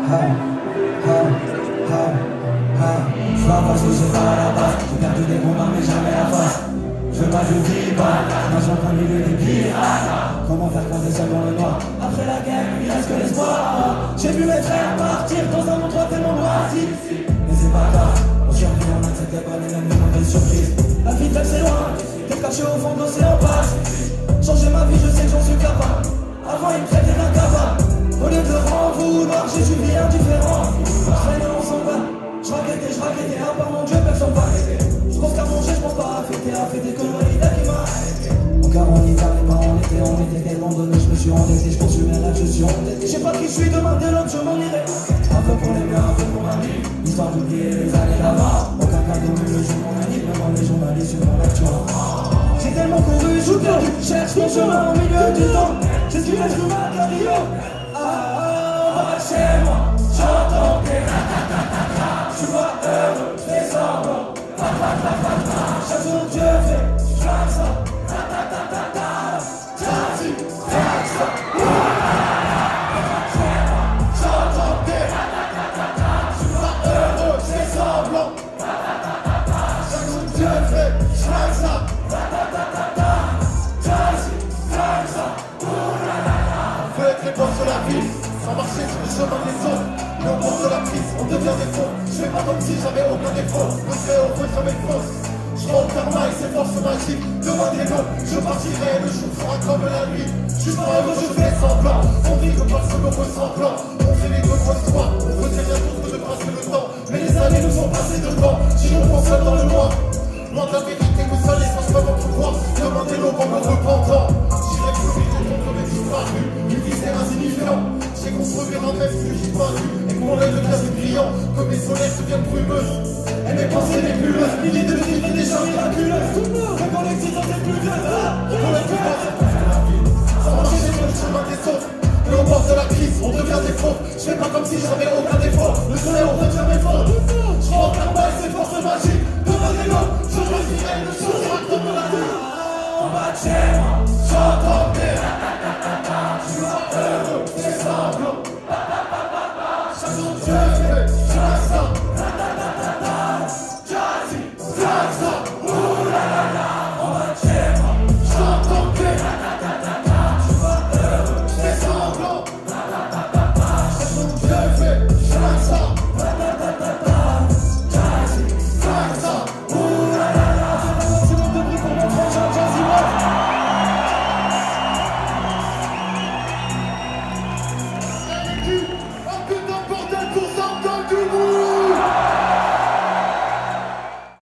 Je vois parce que c'est pas à la base. J'ai perdu des combats mais jamais la face. Je veux pas, je vis pas. Nage en plein milieu des pirates. Comment faire quand t'es seul dans le noir? Après la guerre, il reste que l'espoir. J'ai vu mes frères partir dans un monde tellement moisi. Mais c'est pas grave, on survit, on n'accepte pas les mêmes mauvaises surprises. La vie de rêve c'est loin, t'es caché au fond de l'océan passe. Changer ma vie, je sais que j'en suis capable. Avant ils me traitaient d'un cavale. Au lieu de m'en vouloir, j'ai suivi indifférent. On traînait, on s'en va. Je raquettais, à part mon Dieu, personne va arrêter. Je pense qu'à manger, je pense pas à fêter que le valida qui m'a arrêté. Mon cœur en hiver, les mains en été, on était tellement donné, je me suis endetté, je poursuis mes rêves, je suis endetté. Je sais pas qui je suis demain, dès l'homme, je m'en irai. Un peu pour les miens, un peu pour ma vie, histoire d'oublier les années d'avant. Aucun cadeau, mais le jour mon anniv, même les journalistes sur mon lecture. J'ai tellement couru, je perdu, cherche mon chemin au milieu du temps. J'ai su l'être humain de la Rio. Chez moi, j'entends des ratatata. Je suis pas heureux, fais semblant. Chaque jour Dieu fait, comme ça. Ratatata. Jazzy, comme ça. Chez moi, j'entends des ratatata. Je suis pas heureux, fais semblant. Chaque jour Dieu fait, comme ça. Ratatata. Jazzy, comme ça. On veut être les boss de la vie. Sans marcher sur le chemin des autres, mais au bord de la prise, on devient des faux. Je fais pas comme si j'avais aucun défaut. Le fait au feu jamais fausse. Je rends le karma et ses forces magiques. Demain des mots, je partirai, le jour sera comme la nuit. Je suis pas heureux, je fais semblant. On vit que parce que l'on ressemblant. On fait les deux grosses fois, on faisait rien d'autre que de passer le temps. Mais les années nous ont passé devant, si on pense seul dans le noir. Loin de la vérité que ça les sens peuvent entrevoir. Demandez l'eau en me repentant. J'irai plus vite et contre mes disparus. Une viscère insignifiant. J'ai construit un rêve que j'ai pas vu. Et que mon œil devient brillant. Que mes solaires deviennent brumeuses. Et mes pensées nébuleuses. Milliers de vies, des gens miraculeux.